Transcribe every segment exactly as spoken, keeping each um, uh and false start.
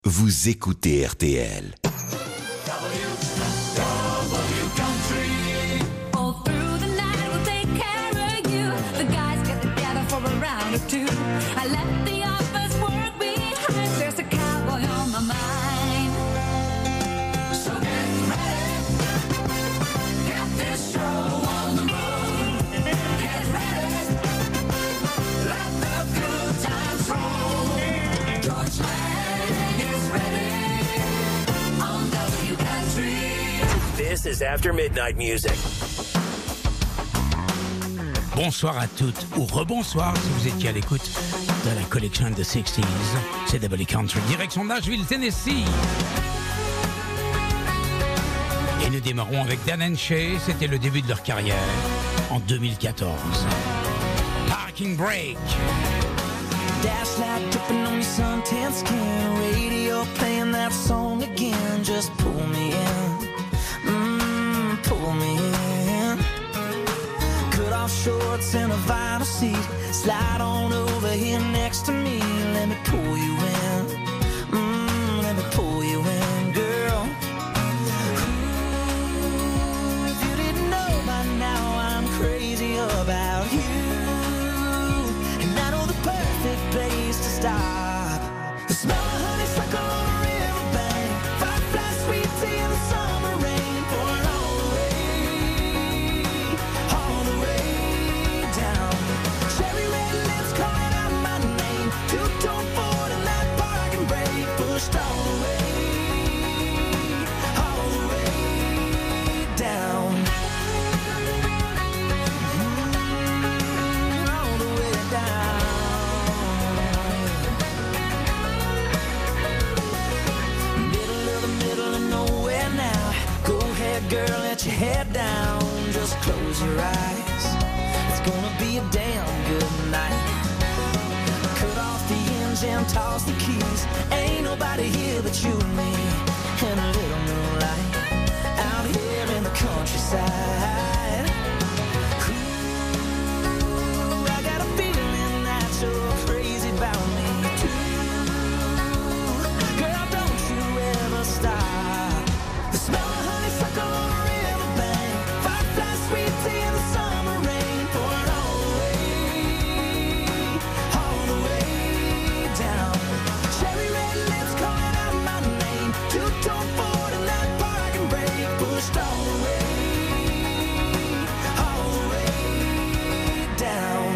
Vous écoutez R T L. This is After Midnight Music. Bonsoir à toutes, ou rebonsoir si vous étiez à l'écoute de la collection de sixties, C W Country, direction Nashville, Tennessee. Et nous démarrons avec Dan and Shay, c'était le début de leur carrière, en deux mille quatorze. Parking Brake. Dash light dripping on your suntan skin, radio playing that song again, just pull me in. Pull me in. Cut off shorts and a vinyl seat. Slide on over here next to me. Let me pull you in. Mm, let me pull you in, girl. Ooh, if you didn't know by now, I'm crazy about you. And I know the perfect place to stop. The smell of honeysuckle on a riverbank. Firefly sweet tea in the summer rain. Pouring all the way, all the way down. Cherry red lips calling out my name. Two-tone Ford and that parking brake. Pushed all the way, all the way down. Mm, all the way down. Middle of the middle of nowhere now. Go ahead, girl, let your head down. Just close your eyes. It's gonna be a damn good night. Cut off the engine, toss the keys. Ain't nobody here but you and me. And a little moonlight out here in the countryside. Ooh, I got a feeling that you're crazy about me too. Girl, don't you ever stop. The smell of honeysuckle on a riverbank. Firefly sweet tea in the summer rain. Pouring all the way, all the way down. Cherry red lips calling out my name. Two-tone Ford and that parking brake. Pushed all the way, all the way down.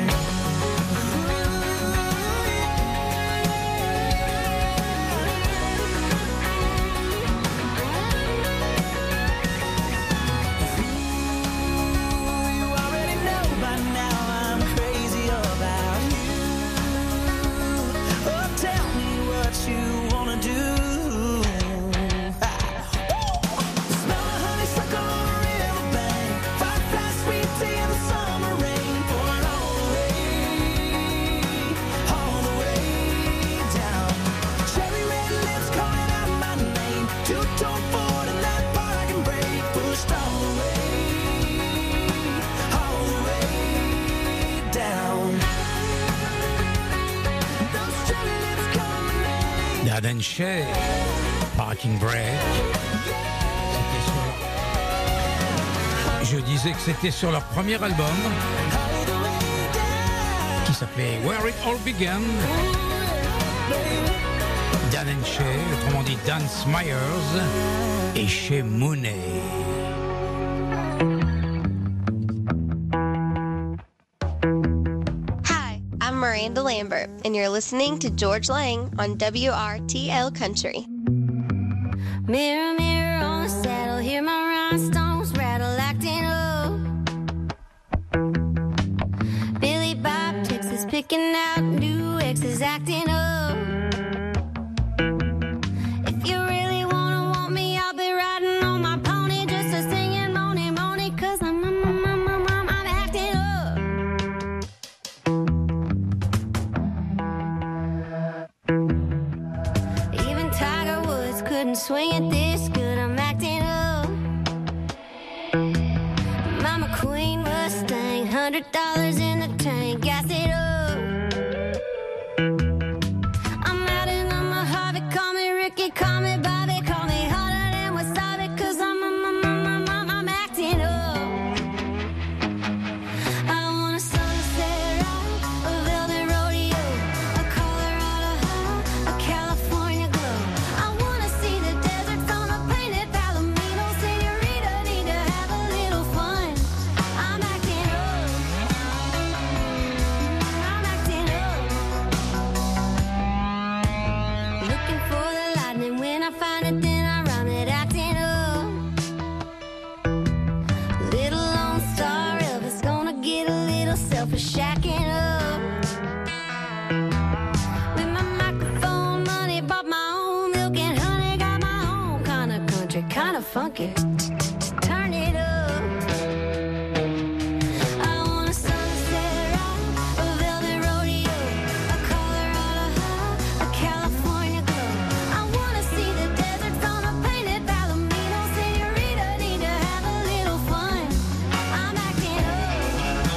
You already know by now I'm crazy about you. Oh, tell me what you wanna do. Ha. Woo! The smell of honeysuckle on a riverbank. Firefly sweet tea in the summer rain. Pouring all the way, all the way down. Cherry red lips calling out my name. Two-tone Ford and that parking brake. Pushed all the way, all the way down. Those cherry lips call my name. Dan and Shay, Parking Brake. C'était sur leur- Je disais que c'était sur leur premier album, All the way down. qui s'appelait Where It All Began. Dan and Shay, autrement dit Dan Smyers et Shay Mooney. Hi, I'm Miranda Lambert, and you're listening to George Lang on W R T L Country. Mirror, mirror on the saddle, hear my rhinestones rattle, acting up. Billy Bob Texas picking out new exes, acting up. If you really wanna want me, I'll be riding on my pony, just a singing money, money, 'cause I'm, I'm, I'm, I'm, I'm, I'm, I'm acting up. Even Tiger Woods couldn't swing it this good, I'm acting up. Mama Queen Mustang, hundred dollars in the tank, gas it up. I'm out in on my Harvey, call me Ricky she call me Bobby, call me hotter than wasabi, cause I'm, I'm, I'm, I'm, I'm, I'm acting up. I want a sunset ride, a velvet rodeo, a Colorado high, a California glow. I wanna see the deserts on a painted palomino. Senorita, need to have a little fun. I'm acting up. I'm acting up. Looking for the lightning, when I find it, then I run it, acting up. Little Lone Star Elvis, gonna get a little selfish, shacking up. With my microphone money, bought my own milk and honey, got my own kind of country, kind of funky. Turn it up. I want a sunset ride, a velvet rodeo, a Colorado high, a California glow. I wanna see the deserts on a painted palomino. Senorita, need to have a little fun. I'm acting up.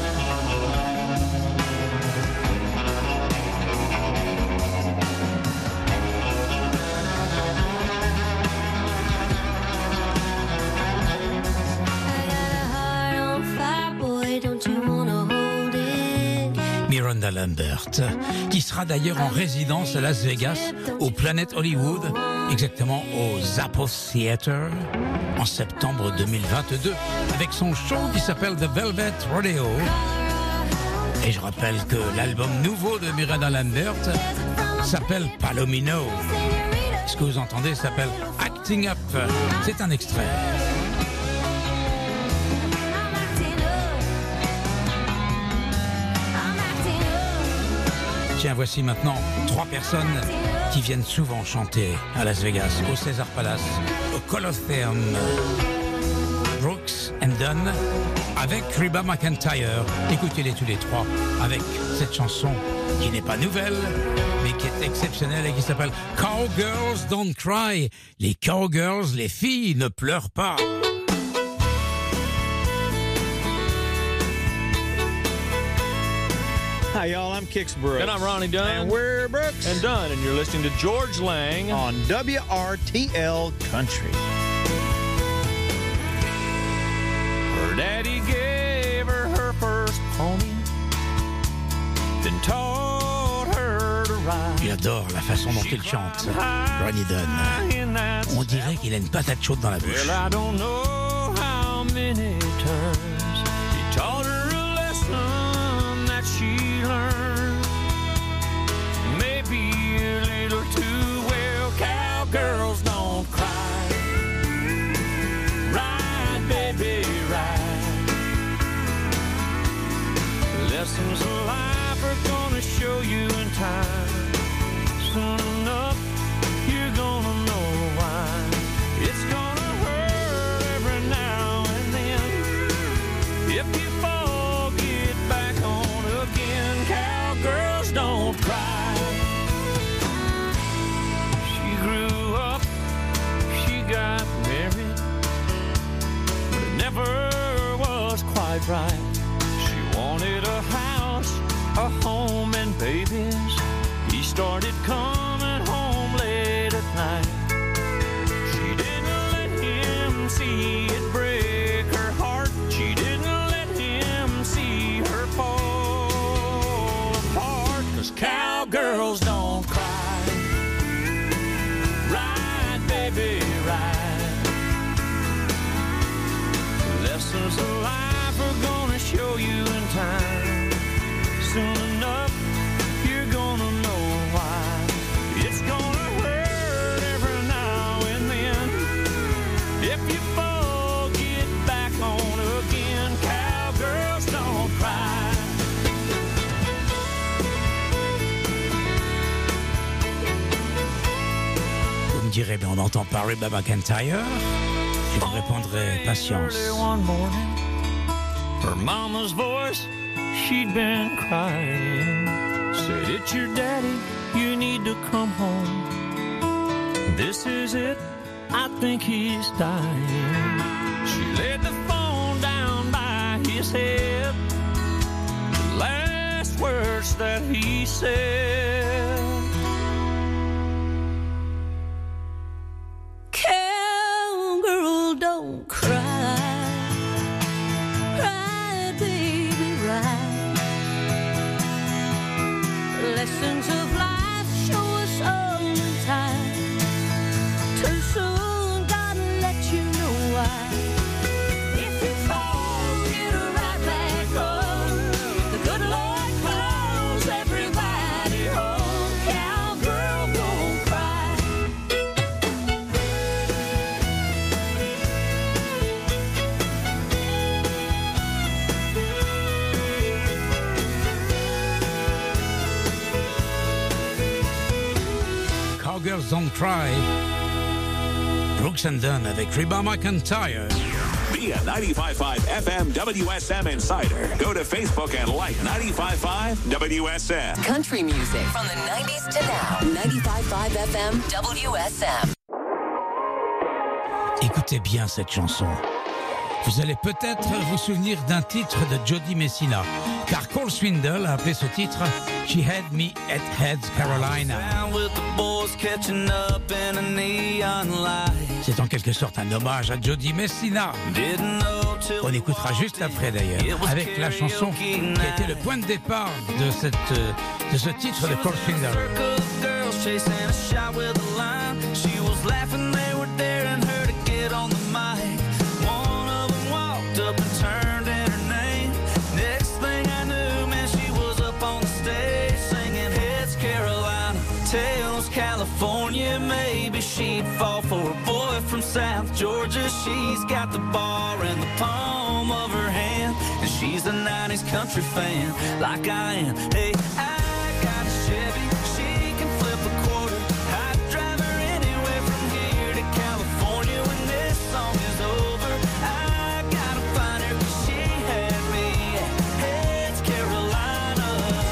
I got a heart on fire, boy, don't you wanna hold it? Miranda Lambert, qui sera d'ailleurs en résidence à Las Vegas, au Planet Hollywood, exactement au Zappos Theater, en septembre deux mille vingt-deux, avec son show qui s'appelle The Velvet Rodeo. Et je rappelle que l'album nouveau de Miranda Lambert s'appelle Palomino. Ce que vous entendez s'appelle Acting Up. C'est un extrait. I'm acting up. I'm acting up. Tiens, voici maintenant trois personnes qui viennent souvent chanter à Las Vegas, au Caesar Palace, au Colosseum. Brooks and Dunn avec Reba McEntire. Écoutez-les tous les trois avec cette chanson qui n'est pas nouvelle, mais qui est exceptionnelle et qui s'appelle Cowgirls Don't Cry. Les cowgirls, les filles, ne pleurent pas. Hi, y'all. I'm Kix Brooks. And I'm Ronnie Dunn. And we're Brooks. And Dunn, and you're listening to George Lang on W R T L Country. Her daddy gave her her first pony, then taught her to ride. J'adore la façon dont il chante, Ronnie Dunn. On dirait qu'il a une patate chaude dans la bouche. Well, I don't know how many times he taught her a lesson that she learned. Maybe a little too well. Cowgirls don't cry. Ride, baby, ride. Lessons of life are gonna show you in time. Soon enough, you're gonna know why. It's gonna hurt every now and then. If you fall, get back on again. Cowgirls don't cry. She grew up, she got married, but it never was quite right. She wanted a house, a home, and babies. He started coming home late at night. She didn't let him see it break her heart. She didn't let him see her fall apart. 'Cause cowgirls don't cry. Ride, baby, ride. Lessons of life are gonna show you in time. Soon enough, you're gonna know why. It's gonna hurt every now and then. If you fall, get back on again. Cowgirls don't cry. Vous me direz, ben on n'entend pas Reba McEntire. Je vous répondrai patience. Early one morning, her mama's voice, she'd been crying. Said, it's your daddy, you need to come home. This is it, I think he's dying. She laid the phone down by his head. The last words that he said. Don't Cry. Brooks and Dunn avec Reba McEntire. Be a ninety-five point five F M W S M Insider. Go to Facebook and like ninety-five point five W S M. Country music from the nineties to now. ninety-five point five F M W S M. Écoutez bien cette chanson. Vous allez peut-être vous souvenir d'un titre de Jody Messina, car Cole Swindle a appelé ce titre She Had Me at Heads Carolina. C'est en quelque sorte un hommage à Jody Messina. On écoutera juste après d'ailleurs, avec la chanson qui a été le point de départ de, cette, de ce titre de Cole Swindle. On the mic, one of them walked up and turned in her name. Next thing I knew, man, she was up on the stage singing Heads Carolina, Tails California. Maybe she'd fall for a boy from South Georgia. She's got the bar in the palm of her hand, and she's a nineties country fan like I am. Hey, I got a Chevy, she can flip a quarter. I'd drive her anywhere from here to California. When this song is over, I gotta find her, 'cause she had me at Heads Carolina.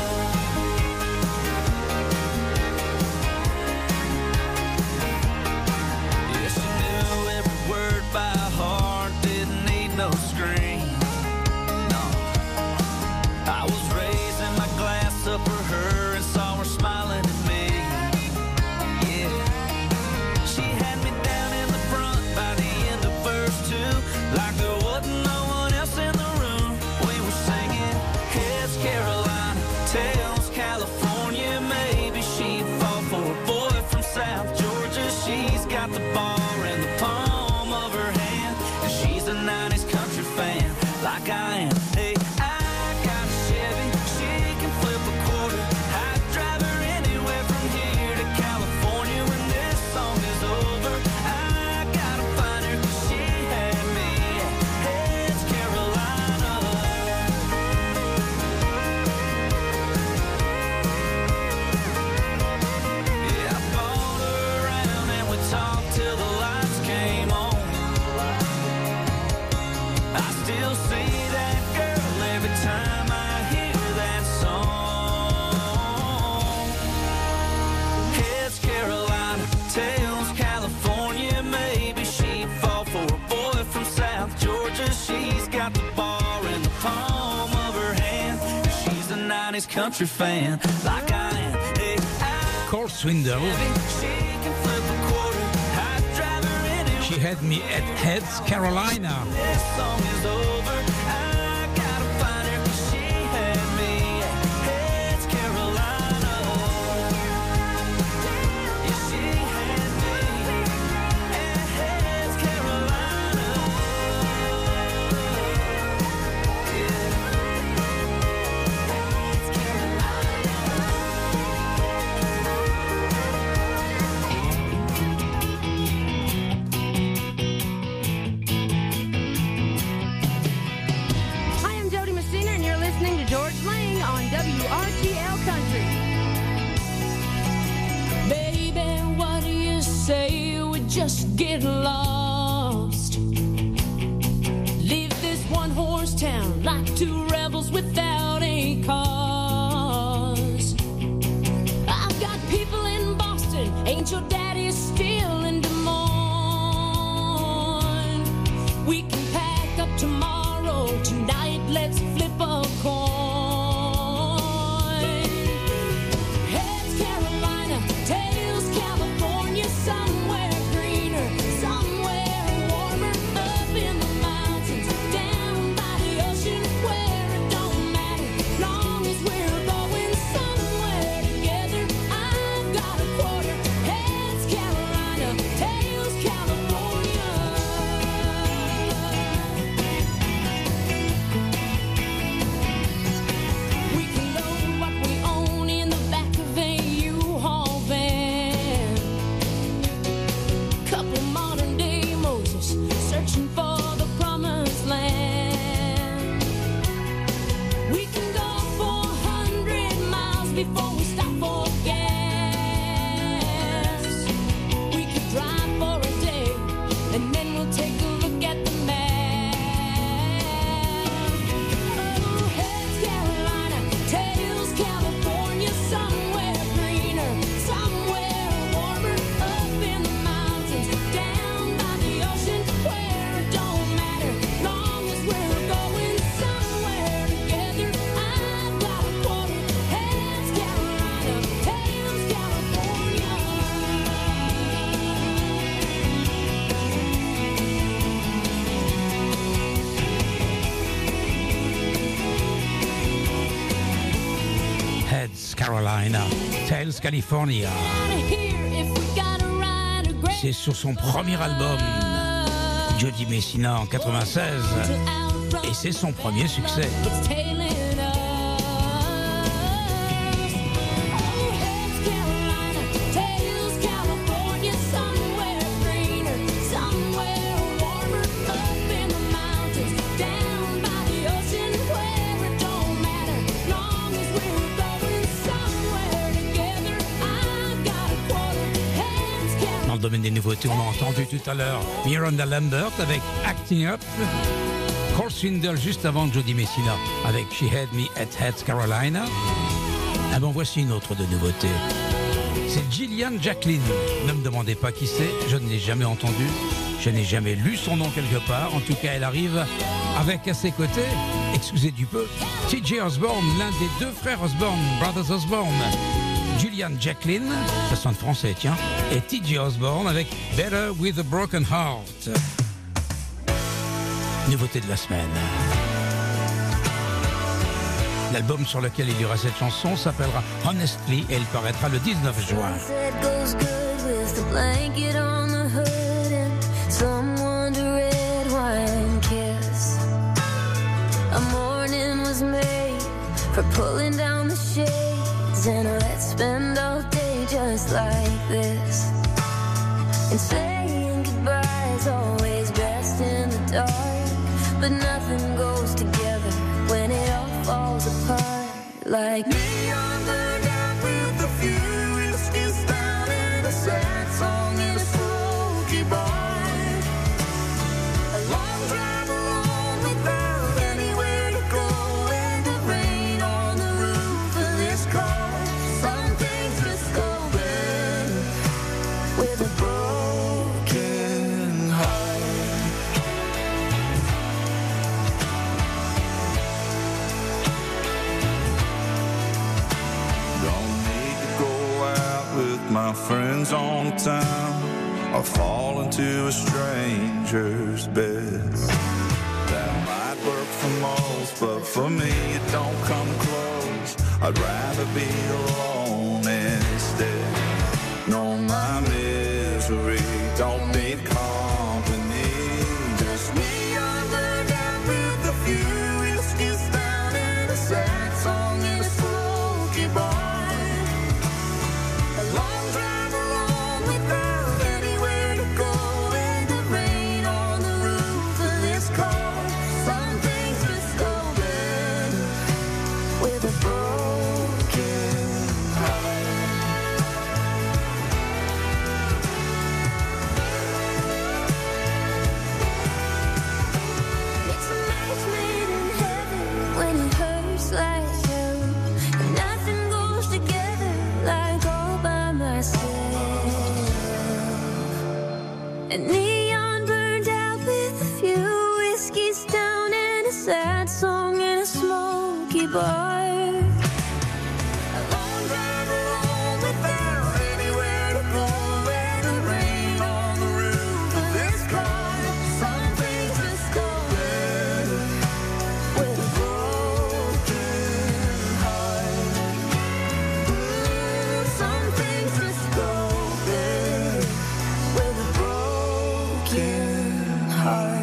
Yeah, she knew every word by heart, didn't need no screen. No, I was raising my glass up for her and saw her smiling at me. Yeah, she had me down in the front by the end of verse two, like there wasn't no one else in the room. We were singing Heads Carolina, Tails California. Maybe she'd fall for a boy from South Georgia. She's got the bar in the palm of her hand, and she's a nineties country fan like I am. Hey, I got a Chevy, she can flip a quarter. I'd drive her anywhere from here to California. When this song is over, I gotta find her, 'cause she had me at Heads Carolina. Yeah, I followed her around and we talked till the lights came on. I still see that girl every time I hear that song. Heads Carolina, Tails California. Maybe she'd fall for a boy from South Georgia. She's got the bar in the palm of her hand, and she's a nineties country fan like I am. Hey, I Cole Swindle, she can flip a quarter. I'd drive her anywhere. She Had Me at Heads Carolina. This song is over, I gotta find her, 'cause she had me at Heads Carolina. Yeah, she had me at Heads Carolina. Yeah. Heads Hi, I'm Jody Messina, and you're listening to George Lang on W R T L Country. Baby, what do you say we just get lost? Leave this one horse town like two rebels without a cause. I've got people in Boston, ain't your daddy still in Des Moines? We can pack up tomorrow, tonight let's flip a coin. Heads Carolina, Tails California, somewhere greener, somewhere warmer, up in the mountains, down by the ocean, where it don't matter, long as we're going somewhere together. I've got a quarter. Heads Carolina. Carolina, Tales California. C'est sur son premier album, Jody Messina en quatre-vingt-seize, et c'est son premier succès. Dans le domaine des nouveautés, on a entendu tout à l'heure Miranda Lambert avec Acting Up, Cole Swindle juste avant Jody Messina avec She Had Me at Heads Carolina. Ah bon, voici une autre de nouveauté. C'est Gillian Jacqueline. Ne me demandez pas qui c'est, je ne l'ai jamais entendue, je n'ai jamais lu son nom quelque part. En tout cas, elle arrive avec à ses côtés, excusez du peu, T J Osborne, l'un des deux frères Osborne, Brothers Osborne. Gillian Jacqueline, ça sonne français, tiens, et T J Osborne avec Better with a Broken Heart. Nouveauté de la semaine. L'album sur lequel il y aura cette chanson s'appellera Honestly et il paraîtra le dix-neuf juin. And let's spend all day just like this. And saying goodbye is always best in the dark. But nothing goes together when it all falls apart. Like neon burned out with a few whiskeys down and a sad song in a smoky bar. A long drive alone without anywhere to go and the rain on the roof of this car. With a broken heart. Don't need to go out with my friends on town or fall into a stranger's bed. That might work for most, but for me it don't come close. I'd rather be alone instead. No, my misery don't need company. Just me on the down with a few whiskeys down and a sad song in a smoky bar. A long drive alone without anywhere to go and the rain on the roof of this car. Some things just go better with a broken heart. And neon burned out with a few whiskeys down and a sad song in a smoky bar. A long drive alone without anywhere to go and the rain on the roof of this car. Some things just go better with a broken heart. Ooh, some things just go better with a broken heart.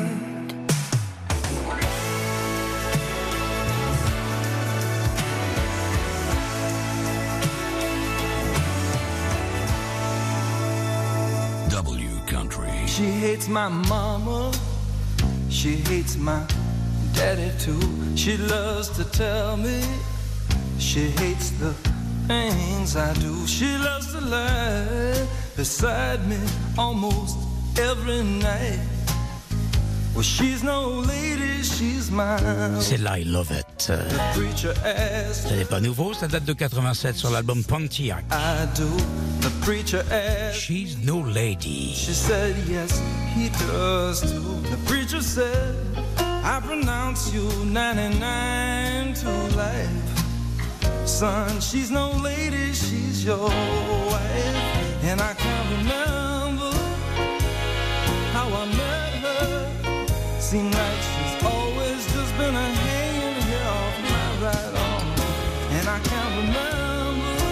W Country. She hates my mama, she hates my daddy too. She loves to tell me she hates the things I do. She loves to lie beside me almost every night. Well, she's no lady, she's mine. C'est là, I Love It. Ce n'est pas nouveau, ça date de quatre-vingt-sept sur l'album Pontiac. I do. The preacher asked, She's no lady. She said yes, he does too. The preacher said, I pronounce you ninety-nine to life. Son, she's no lady, she's your wife. And I can't remember how I met her. Seems like she's always just been a hanging here off my right arm. And I can't remember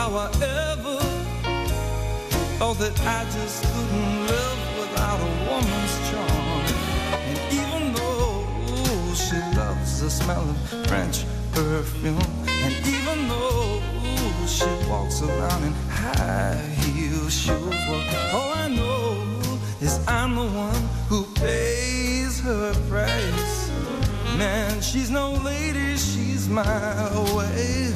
how I ever thought that I just couldn't live without a woman's charm. And even though she loves the smell of French perfume, and even though she walks around in high heel shoes, well, all I know is I'm the one who pays her price. Man, she's no lady, she's my way.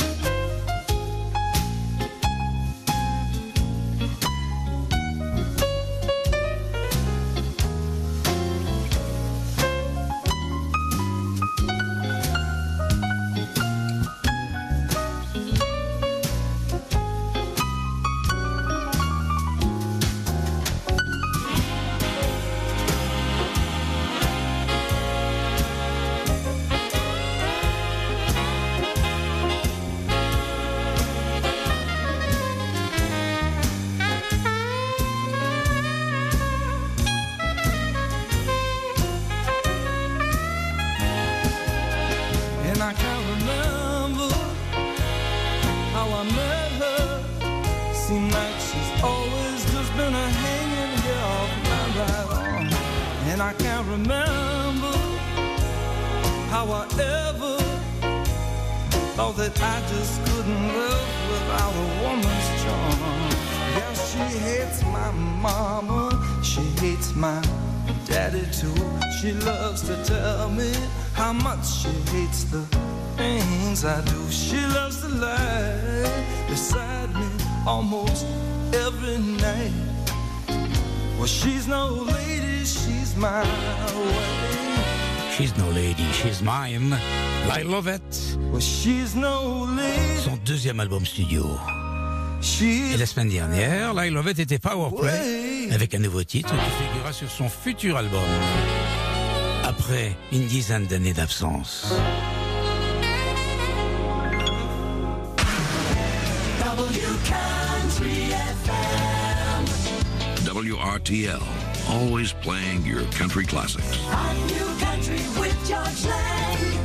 She loves to tell me how much she hates the things I do. She loves to lie beside me almost every night. Well, she's no lady, she's my way. She's no lady, she's mine. Lyle Lovett. Well, she's no lady. Son deuxième album studio. Et la semaine dernière, Lyle Lovett était Powerplay avec un nouveau titre qui figurera sur son futur album. Après une dizaine d'années d'absence. W R T L, always playing your country classics. Hot new country with George Lang.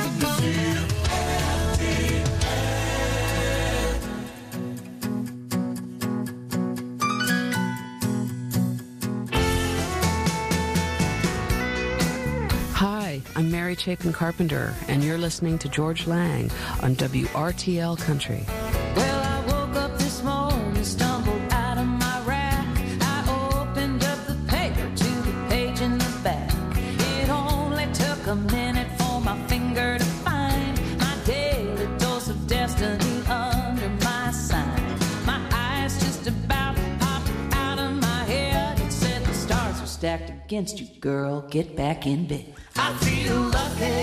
Hi, I'm Mary Chapin Carpenter, and you're listening to George Lang on W R T L Country. Well, I woke up this morning, stumbled out of my rack. I opened up the paper to the page in the back. It only took a minute for my finger to find my daily dose of destiny under my sign. My eyes just about popped out of my head. It said the stars are stacked against you, girl. Get back in bed. I feel lucky.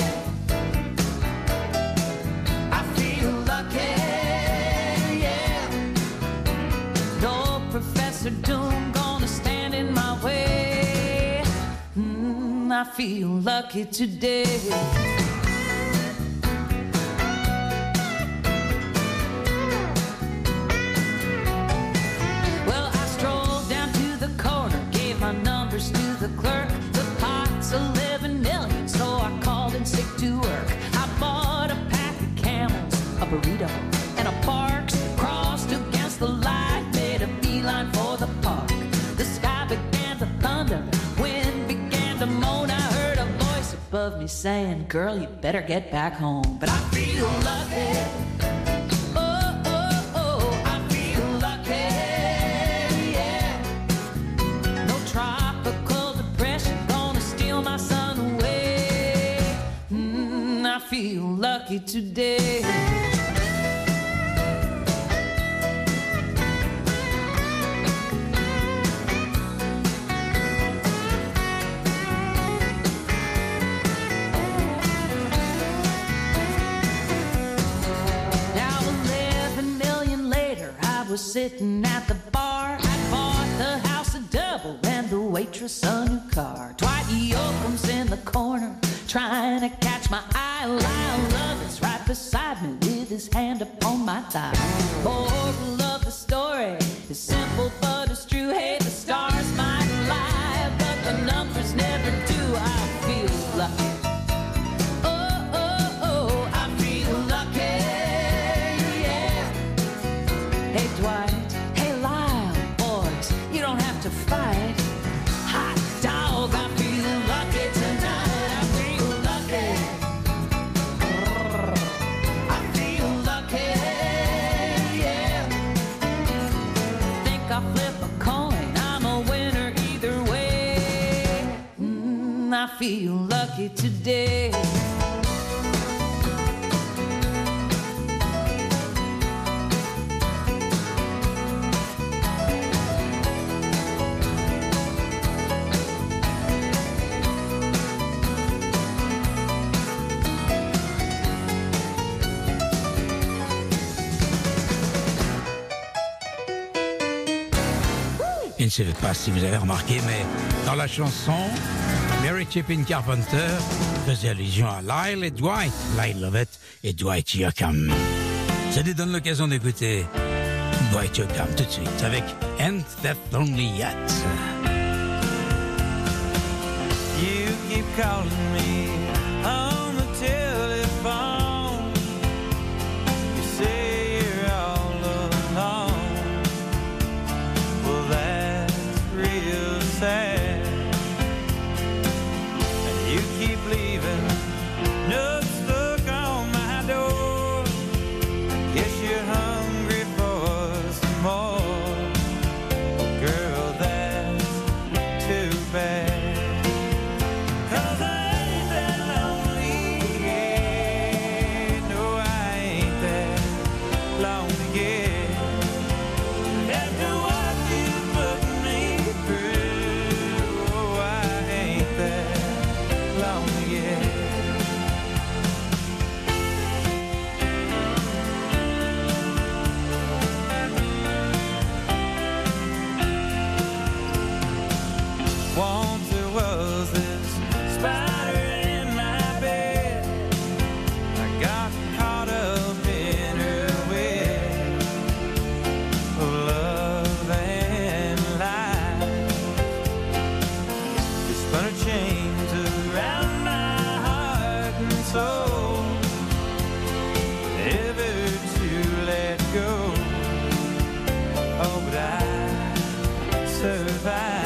I feel lucky, yeah. No Professor Doom gonna stand in my way. Mm, I feel lucky today. Well, I strolled down to the corner, gave my numbers to the clerk. The pot's eleven million, so I called in sick to work. I bought a pack of Camels, a burrito, and a Parks. Crossed against the light, made a beeline for the park. The sky began to thunder, wind began to moan. I heard a voice above me saying, girl, you better get back home. But I feel lucky. Oh, oh, oh, I feel lucky, yeah. No tropical depression gonna steal my sun away. Mm, I feel lucky today. Now eleven million later, I was sitting at the bar. I bought the house a double and the waitress a new car. Dwight Yoakam's in the corner, trying to catch my eye. Lyle Lovett's right beside me with his hand upon my thigh. Moral of the story is simple but it's true. Hey, the stars might lie, but the numbers never do. I feel lucky. Oh, oh, oh, I feel lucky, yeah. to fight. Hot dog, I feel lucky tonight. I feel lucky. I feel lucky, yeah. Think I'll flip a coin, I'm a winner either way. Mm, I feel lucky today. Je ne sais pas si vous avez remarqué, mais dans la chanson, Mary Chapin Carpenter faisait allusion à Lyle et Dwight, Lyle Lovett et Dwight Yoakam. Ça nous donne l'occasion d'écouter Dwight Yoakam tout de suite avec Ain't That Lonely Yet. You keep calling me on the telephone. You say you're all alone. Well, that's real sad. And you keep leaving notes stuck on my door. Guess you're hungry for some more. Girl, that's too bad. Once there was this spider in my bed. I got caught up in her web of love and life. She spun her chains around my heart and soul, never to let go. Oh, but I survived.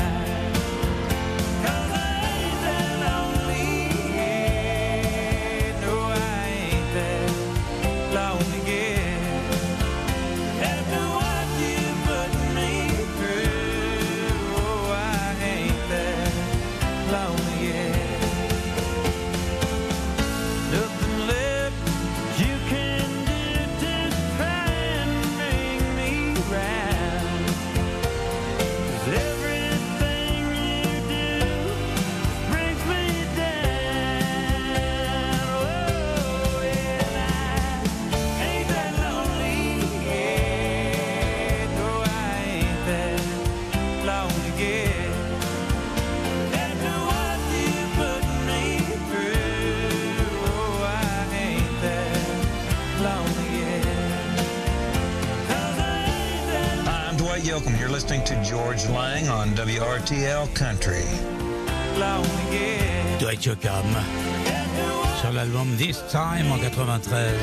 Yoakam. You're listening to George Lang on W R T L Country. Dwight Yoakam sur l'album This Time en quatre-vingt-treize.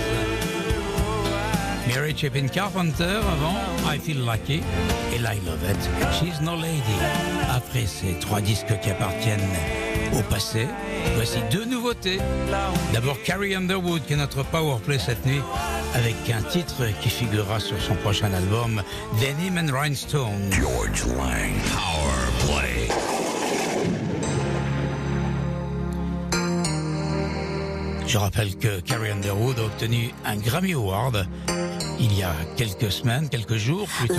Mary Chapin Carpenter avant I Feel Lucky et Lyle Lovett She's No Lady. Après ces trois disques qui appartiennent au passé, voici deux nouveautés. D'abord Carrie Underwood qui est notre powerplay cette nuit avec un titre qui figurera sur son prochain album Denim and Rhinestone. George Lang Powerplay. Je rappelle que Carrie Underwood a obtenu un Grammy Award il y a quelques semaines, quelques jours plutôt,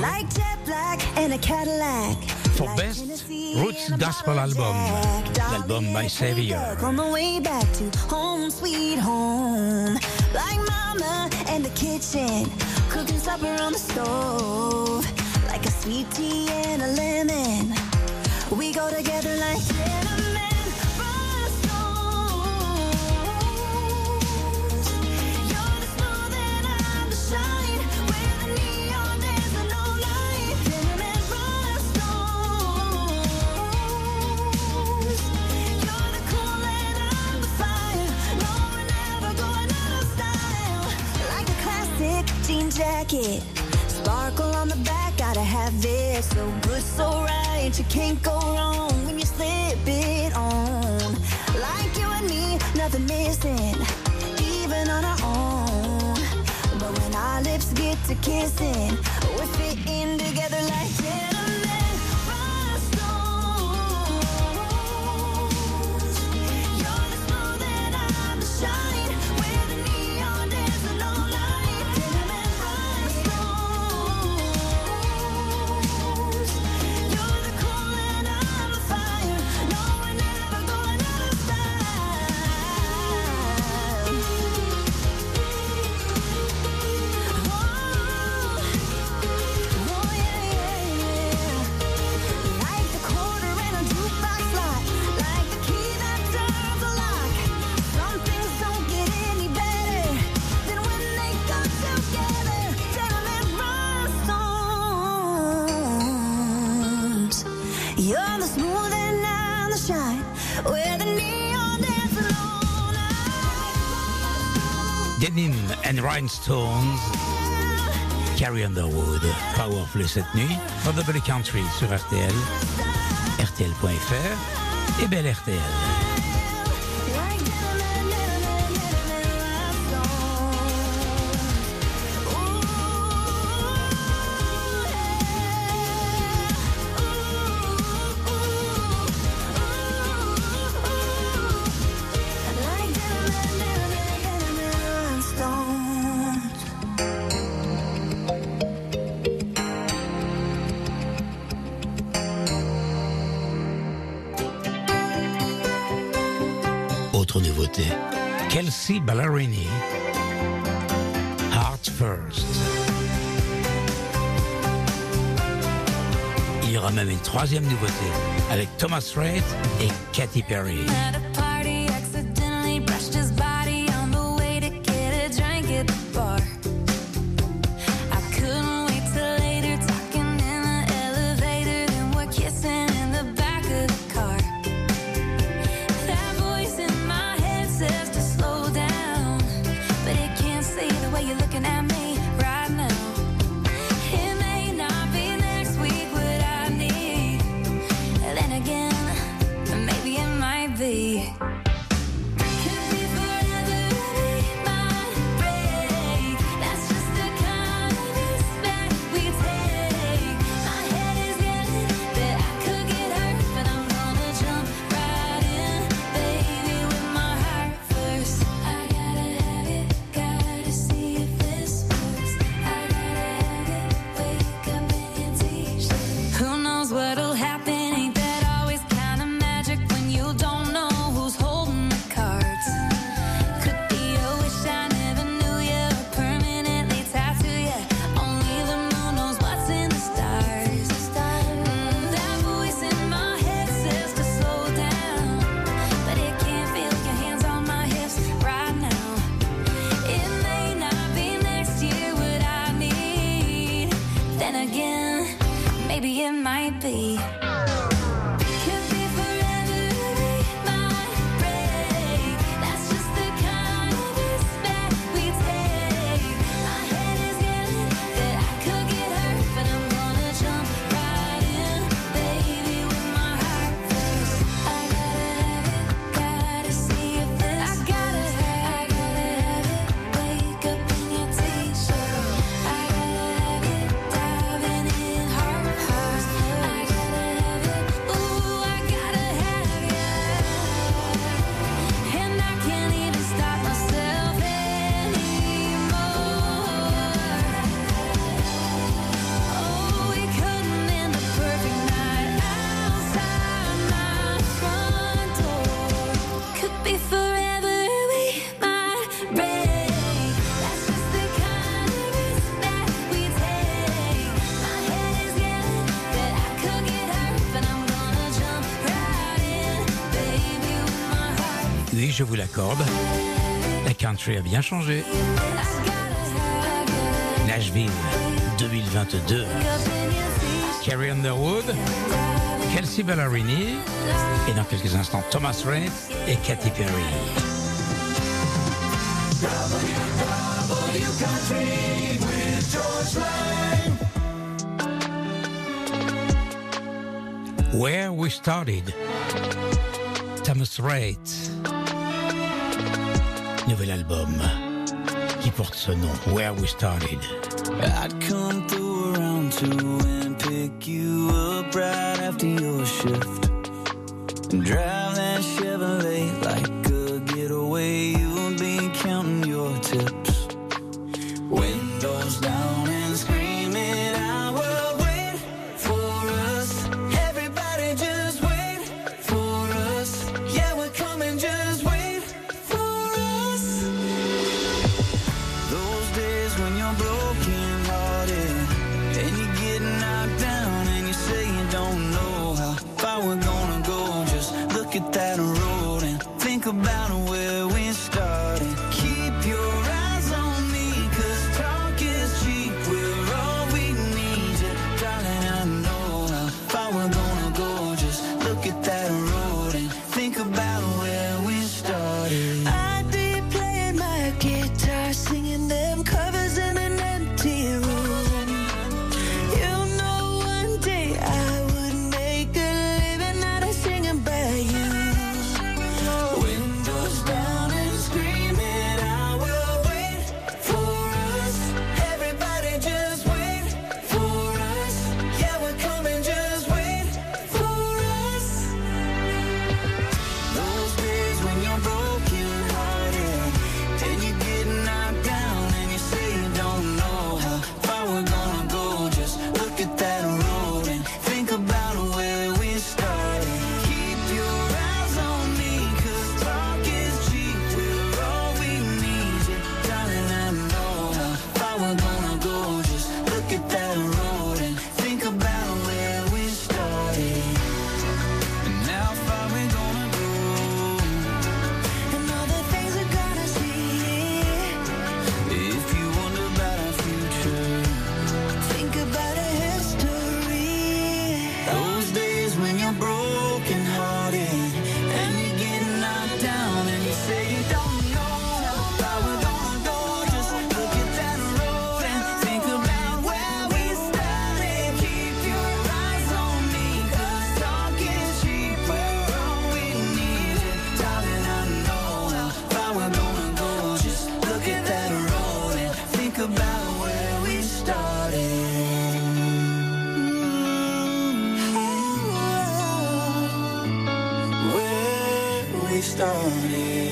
for Best Roots Gospel Album, l'album My Savior. On the way back to home, sweet home. Like mama in the kitchen, cooking supper on the stove. Like a sweet tea and a lemon, we go together like cinnamon rhinestones. You're the smooth and I'm the shine, where the neon is the no light. Cinnamon rhinestones. You're the cool and I'm the fire. No, we're never going out of style. Like a classic jean jacket, sparkle on the back, gotta have it. So good, so right, but you can't go wrong when you slip it on. Like you and me, nothing missing, even on our own. But when our lips get to kissing, we're fitting together like gentlemen rhinestones. You're the smooth and I'm the shine, we're the neon dancing all night. Gentlemen rhinestones. You're the cool and I'm the fire. No, we're never going out of style. Oh, yeah, yeah, yeah. Like the quarter in a jukebox slot, like the key that turns the lock. Some things don't get any better than when they come together. Gentlemen rhinestones. You're the smooth and I'm the shine. We're the neon dancing all night. Denim and Rhinestones, Carrie Underwood, Powerful cette nuit, dans Double Country sur R T L, R T L point F R et Belle R T L. Autre nouveauté, Kelsea Ballerini, Heart First. Il y aura même une troisième nouveauté avec Thomas Rhett et Katy Perry. At a party, accidentally brushed his body on the way to get a drink at the bar. I couldn't wait till later, talking in the elevator, then we're kissing in the back of the car. That voice in my head says to slow down, but it can't see the way you're looking at me right now. It may not be next week what I need, then again, maybe it might be. Could be forever, be my break. That's just the kind of respect we take. My head is getting that I could get hurt, but I'm gonna jump right in, baby, with my heart first. I gotta have it, gotta see if this works. I gotta have it, wake up in your t-shirt. Who knows what'll happen? Ain't that always kind of magic when you don't know who's holding the cards? Could be a wish I never knew you, or permanently tattoo you. Only the moon knows what's in the stars. Mm, that voice in my head says to slow down, but it can't feel your hands on my hips right now. It may not be next year what I need, then again, maybe it might be. Could be forever, be my break. That's just the kind of respect we take. My head is getting that I could get hurt, but I'm gonna jump right in, baby, with my heart first. I gotta have it, gotta see if this. I gotta have it, wake up in your t-shirt. I gotta have it, diving in heart first. I gotta have it, ooh, I gotta have you. And I can't even stop myself anymore. Oh, we couldn't end the perfect night outside my front door. Could be forever, we might break. That's just the kind of respect we take. My head is getting that I could get hurt, but I'm gonna jump right in, baby, with my heart. Oui, je vous l'accorde, la country a bien changé. Nashville deux mille vingt-deux. Carrie Underwood, Kelsea Ballerini et dans quelques instants Thomas Rhett et Katy Perry. W Country with George Lang. Where We Started. Thomas Rhett. Nouvel album qui porte ce nom, Where We Started. I'd come through around two and pick you up right after your shift and drive that Chevrolet like a getaway. You'll be counting your tips, windows down and screaming, I will wait for us. Everybody just wait for us. Yeah, we're coming, just wait for us. Those days when you're broken hearted and you get knocked down and you say you don't know how far we're gonna go. Just look at that road and think about where we started. Keep your eyes on me, 'cause talk is cheap. We're all we need, yeah, darling, I know how far we're gonna go. Just look at that road and think about where we started. I'd be playing my guitar, singing them covers in an empty room. You know one day I would make a living out of singing by you. Windows down and screaming, I will wait for us. Everybody just wait for us. Yeah, we're coming, just wait for us. Those days when you're broken hearted and you get knocked down and you say you don't know how far we're gonna go. Just look at that road and think about where we started. Keep your eyes on me, 'cause talk is cheap. We're all we need, yeah, darling, I know how far we're gonna go. Just look at that road and think about where we started and how far we're gonna go and all the things we're gonna see. If you wonder about our future, think about our history. Those days when you're broken hearted and you get knocked down and you say you don't know how far we're gonna go. Just look at that road and think about where we started. Keep your eyes on me, 'cause talk is cheap. We're all we need, yeah, darling, I know how far we're gonna go. Just look at that road and think about where we started. Where we started.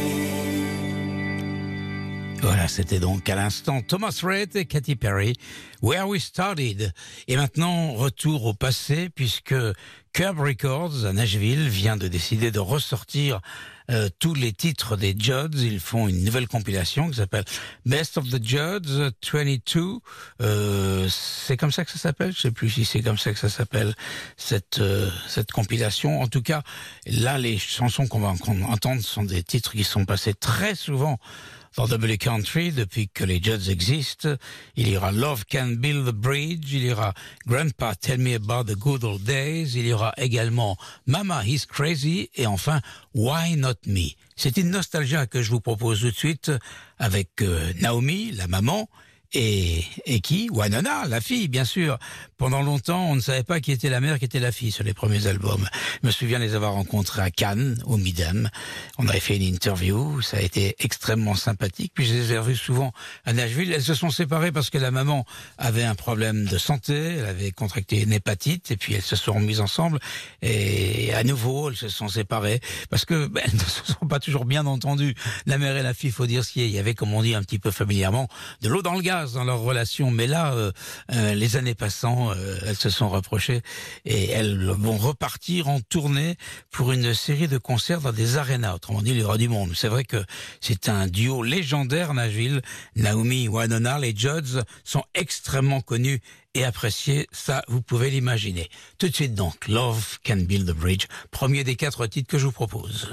Voilà, c'était donc à l'instant Thomas Rhett et Katy Perry, Where We Started. Et maintenant, retour au passé, puisque Curb Records à Nashville vient de décider de ressortir euh, tous les titres des Judds. Ils font une nouvelle compilation qui s'appelle Best of the Judds vingt-deux. Euh, c'est comme ça que ça s'appelle? Je sais plus si c'est comme ça que ça s'appelle, cette euh, cette compilation. En tout cas, là, les chansons qu'on va qu'on entendre sont des titres qui sont passés très souvent dans W Country depuis que les Judds existent. Il y aura Love Can Build the Bridge, il y aura Grandpa Tell Me About the Good Old Days, il y aura également Mama He's Crazy et enfin Why Not Me. C'est une nostalgie que je vous propose tout de suite avec euh, Naomi, la maman, et, et qui? Wynonna, la fille, bien sûr. Pendant longtemps, on ne savait pas qui était la mère, qui était la fille sur les premiers albums. Je me souviens les avoir rencontrés à Cannes, au Midem. On avait fait une interview, ça a été extrêmement sympathique. Puis je les ai revus souvent à Nashville. Elles se sont séparées parce que la maman avait un problème de santé, elle avait contracté une hépatite, et puis elles se sont remises ensemble. Et à nouveau, elles se sont séparées parce que ben, elles ne se sont pas toujours bien entendues. La mère et la fille, faut dire ce qu'il y a. Il y avait, comme on dit un petit peu familièrement, de l'eau dans le gaz dans leur relation, mais là, euh, euh, les années passant, euh, elles se sont rapprochées et elles vont repartir en tournée pour une série de concerts dans des arénas, autrement dit, il y aura du monde. C'est vrai que c'est un duo légendaire, Nashville. Naomi, Wynonna, les Judds sont extrêmement connus et appréciés, ça, vous pouvez l'imaginer. Tout de suite donc, Love Can Build the Bridge, premier des quatre titres que je vous propose.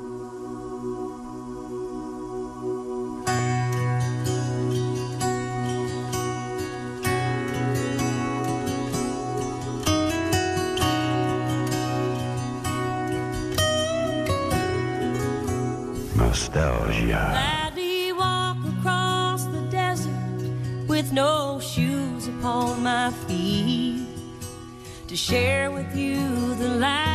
Nostalgia. Gladly walk across the desert with no shoes upon my feet to share with you the life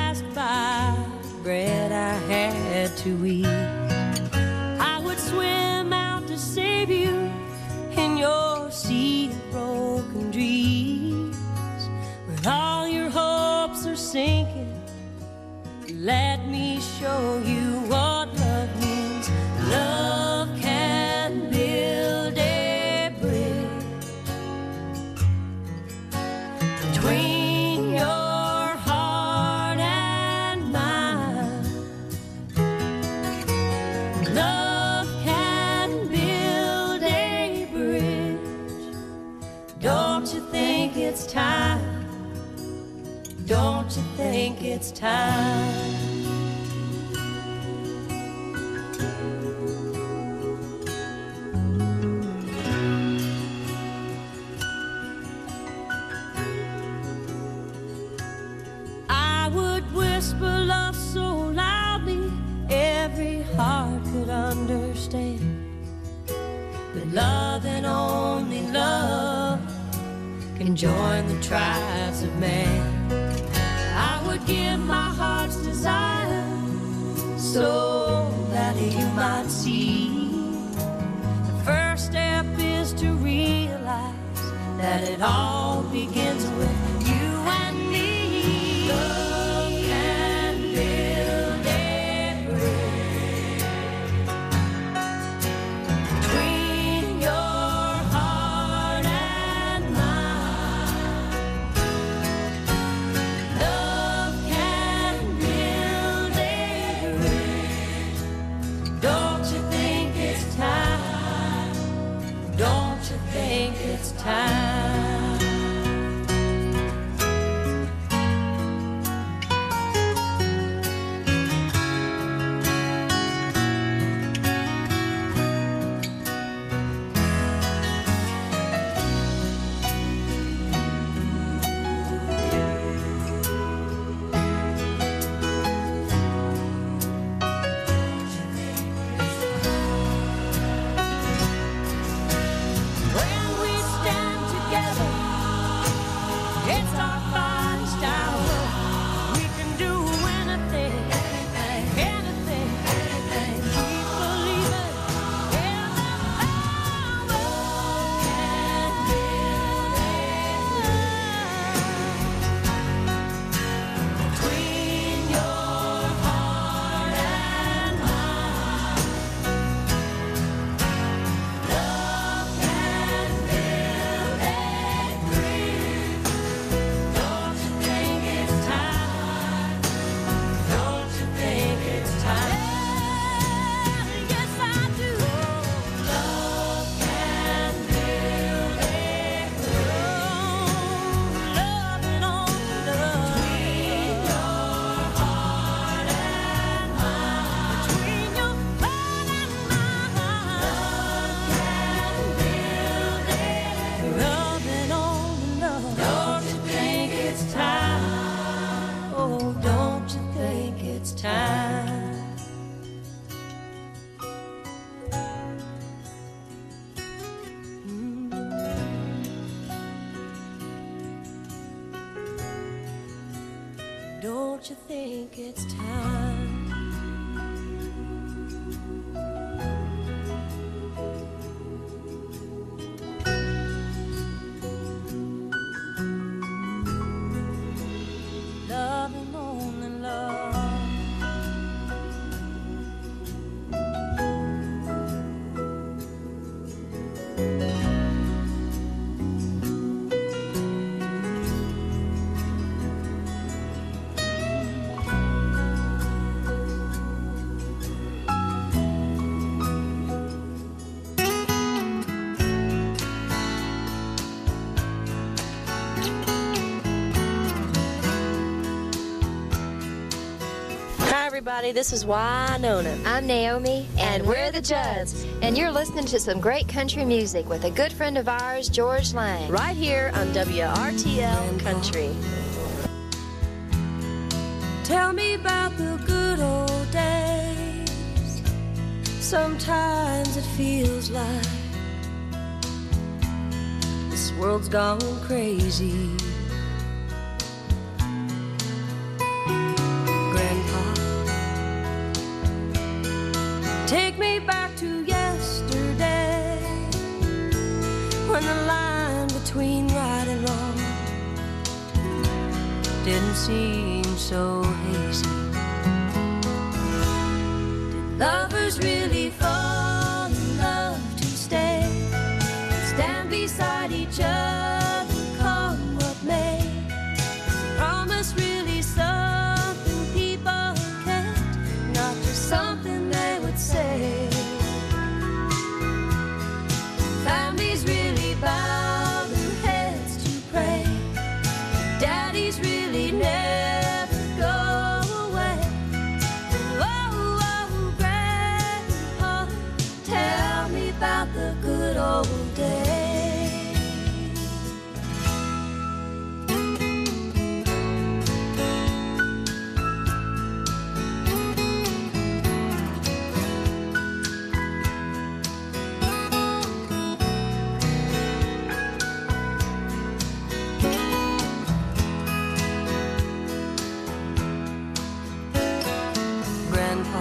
to eat. I would swim out to save you in your sea of broken dreams. When all your hopes are sinking, let me show you what love means. Love can build a bridge between your heart and mine. Love can build a bridge. Don't you think it's time? Don't you think it's time? I would whisper love so loudly every heart could understand. But love and only love can join the tribes of man. I would give my heart's desire so that you might see. The first step is to realize that it all begins with you and me. Love can build a bridge between your heart and mine. Love can build a bridge. Don't you think it's time? Don't you think it's time? When we stand together, it's our finest hour. We can do anything, anything, anything. Keep believing in the power can build a bridge between your heart and mine. Love can build a bridge. Don't you think it's time? Don't you think it's time? Yes, I do. Love can build a bridge. Love and only love between your heart and mine. Between your heart and mine. Love can build a bridge. Love and only love. Don't you think it's time? Oh, don't you think it's time? Don't you think it's time? Love and only love. Hi, everybody. This is Winona. I'm Naomi, and we're the Judds. And you're listening to some great country music with a good friend of ours, George Lang. Right here on W R T L Country. Tell me about the good old days. Sometimes it feels like this world's gone crazy. Grandpa Take me back to yesterday, when the line between right and wrong didn't seem so hazy. Did lovers really fall in love to stay, stand beside each other, come what may? Promise really something people can't, not just something they would say. Families really bow their heads to pray. Daddies really never go away. Oh, oh, Grandpa, tell me about the good old days. Grandpa,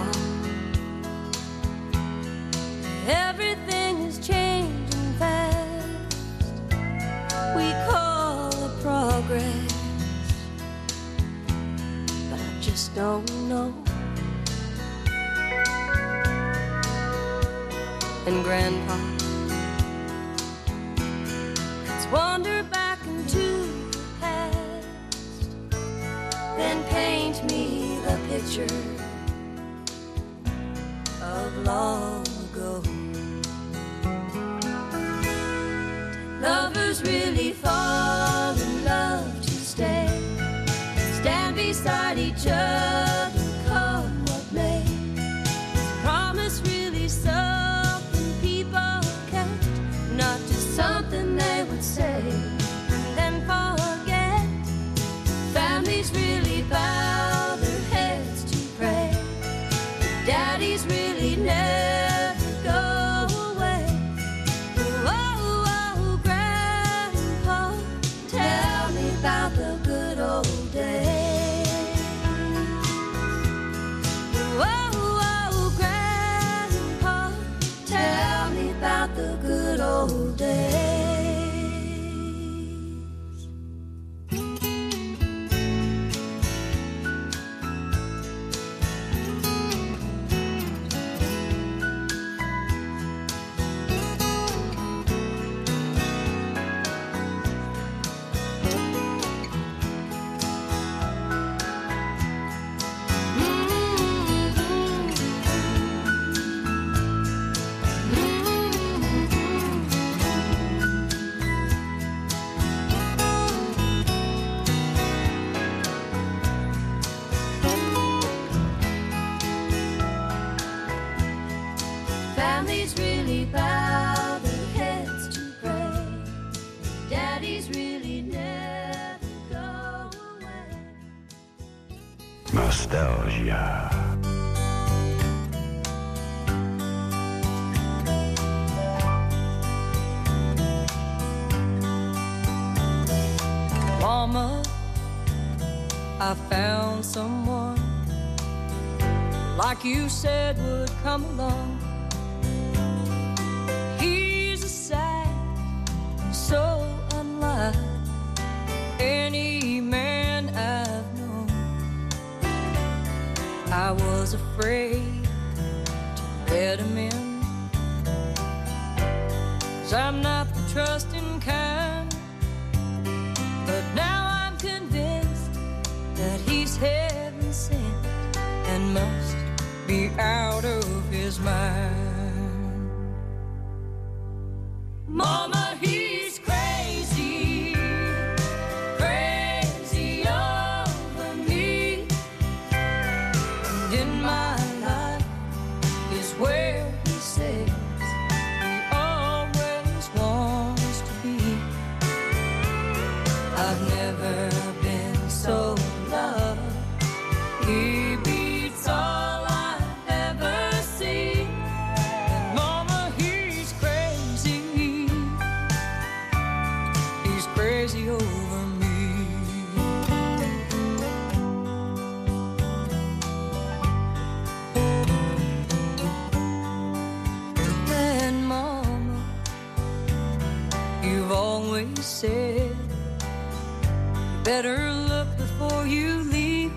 everything is changing fast. We call it progress, but I just don't know. And Grandpa, let's wander back into the past, then paint me the picture of long ago. Lovers really fall in love to stay, stand beside each other, come what may. Promise really something people can't, not just something they would say and then forget. Families really bow their heads to pray. Daddies really never go away. Oh, oh, Grandpa, tell me about the good old days. Oh, oh, Grandpa, tell me about the good old days. Families really bow their heads to pray. Daddies really never go away. Nostalgia. Mama, I found someone like you said would come along. He's a sight so unlike any man I've known. I was afraid to let him in, 'cause I'm not the trusting kind. But now I'm convinced that he's heaven sent and must be out of his mind. Mama, he's crazy, crazy over me. And in my life is where he says he always wants to be. I've never been so loved. He beats all I've ever seen. And Mama, he's crazy. He's crazy over me. said, better look before you leave.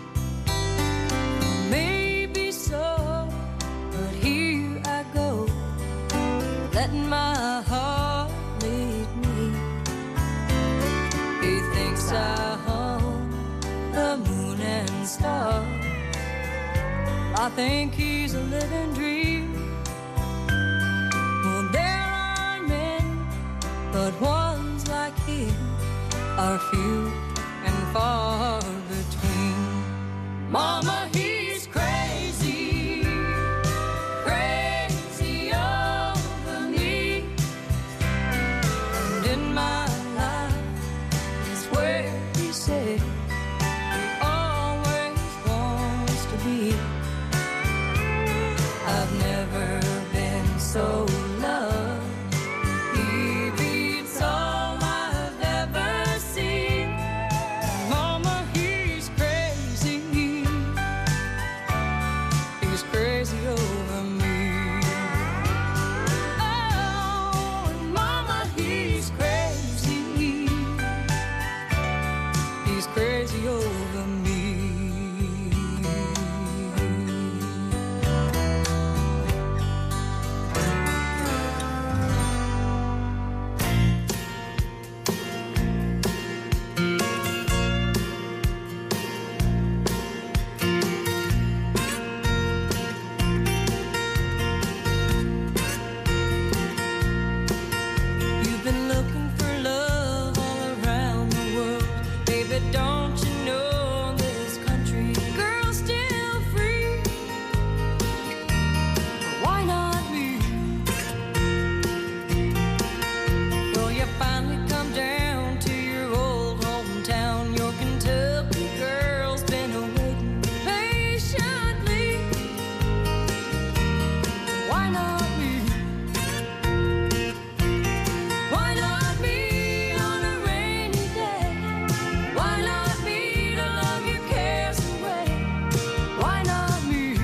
Maybe so, but here I go, letting my heart lead me. He thinks I hung the moon and stars. I think he's a living dream. Well, there are many, but ones like him are few and far between. Mama, he's crazy, crazy over me. And in my life is where he said he always wants to be. I've never been so loved. He beats all I've ever seen. Mama, he's crazy. He's crazy over me. Oh, and Mama, he's crazy. He's crazy over me. You've been looking for love all around the world. Baby, don't you know this country girl's still free? Why not me? Well, you finally come down to your old hometown. Your Kentucky girl's been awaiting patiently. Why not me? Why not me on a rainy day? Why not me to love your cares away? Why not me?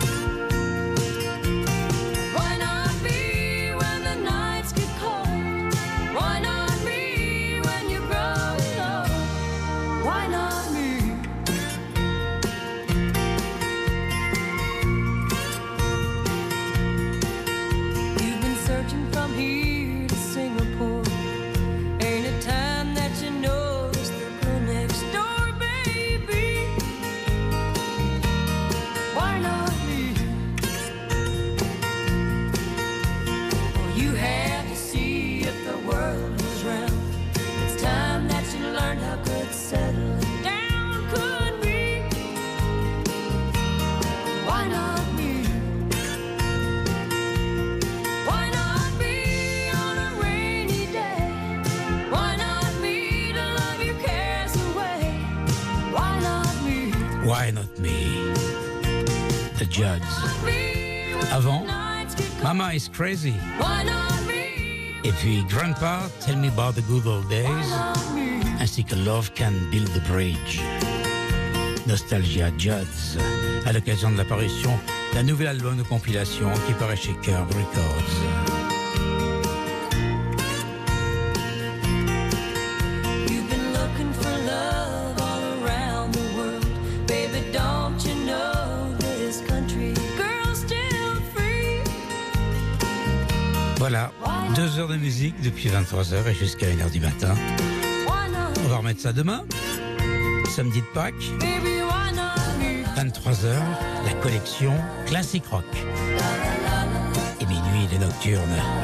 Why not me when the nights get cold? Why not me when you're growing old? Why not me? You've been searching from here to Singapore. Ain't it time that you notice the girl next door, baby? Why not me? Well, you had to see if the world was round. It's time that you learned how good settling down could be. Why not me? Why not me on a rainy day? Why not me to love your cares away? Why not me? Why Not Me? The Judds. Avant, Mama is Crazy. Why not me? Et puis Grandpa, Tell Me About the Good Old Days. Ainsi que Love Can Build the Bridge. Nostalgia Judds. À l'occasion de l'apparition d'un nouvel album de compilation qui paraît chez Curb Records. You've been looking for love all around the world. Baby, don't you know this country girl's still free? Voilà, deux heures de musique depuis vingt-trois heures et jusqu'à une heure du matin. Why not? On va remettre ça demain, samedi de Pâques, Baby, why not me? vingt-trois heures, la collection Classic Rock. Et minuit, les nocturnes.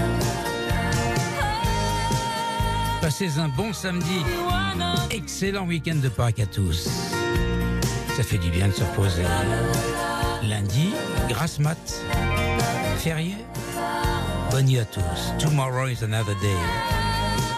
Passez un bon samedi, excellent week-end de Pâques à tous. Ça fait du bien de se reposer. Lundi, grasse mat, férié. Bonne nuit à tous. Tomorrow is another day.